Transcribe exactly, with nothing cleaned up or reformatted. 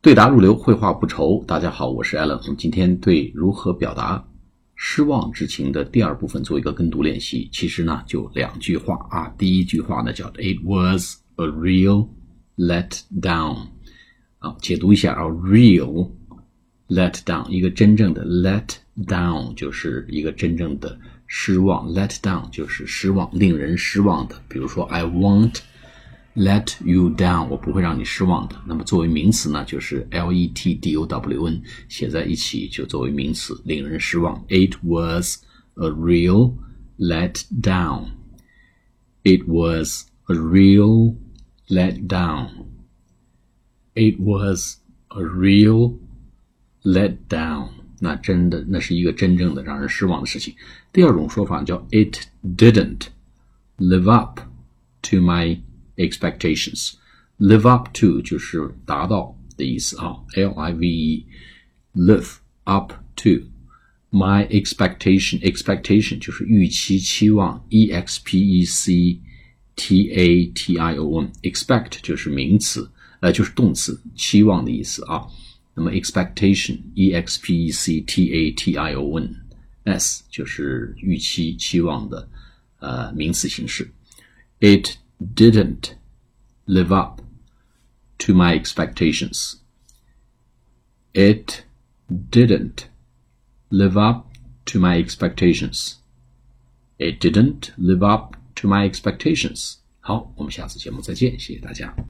对答入流，绘画不愁。大家好，我是 Alan。我们今天对如何表达失望之情的第二部分做一个跟读练习。其实呢，就两句话啊。第一句话呢叫 It was a real letdown。啊，解读一下啊 ，real letdown， 一个真正的 let down 就是一个真正的失望 ，let down 就是失望，令人失望的。比如说 I won't let you down， 我不会让你失望的。那么作为名词呢，就是 L E T D O W N 写在一起就作为名词，令人失望。It was a real letdown. It was a real letdown. It was a real letdown. 那真的，那是一个真正的让人失望的事情。第二种说法叫 It didn't live up to my expectations. Live up to 就是达到的意思啊 L I V E live up to my expectation. Expectation 就是预期期望 E X P E C T A T I O N. Expect 就是名词呃，就是动词期望的意思啊。那么 expectation E X P E C T A T I O N S 就是预期期望的呃名词形式。It didn't live up to my expectations. It didn't live up to my expectations. It didn't live up to my expectations. 好，我们下次节目再见，谢谢大家。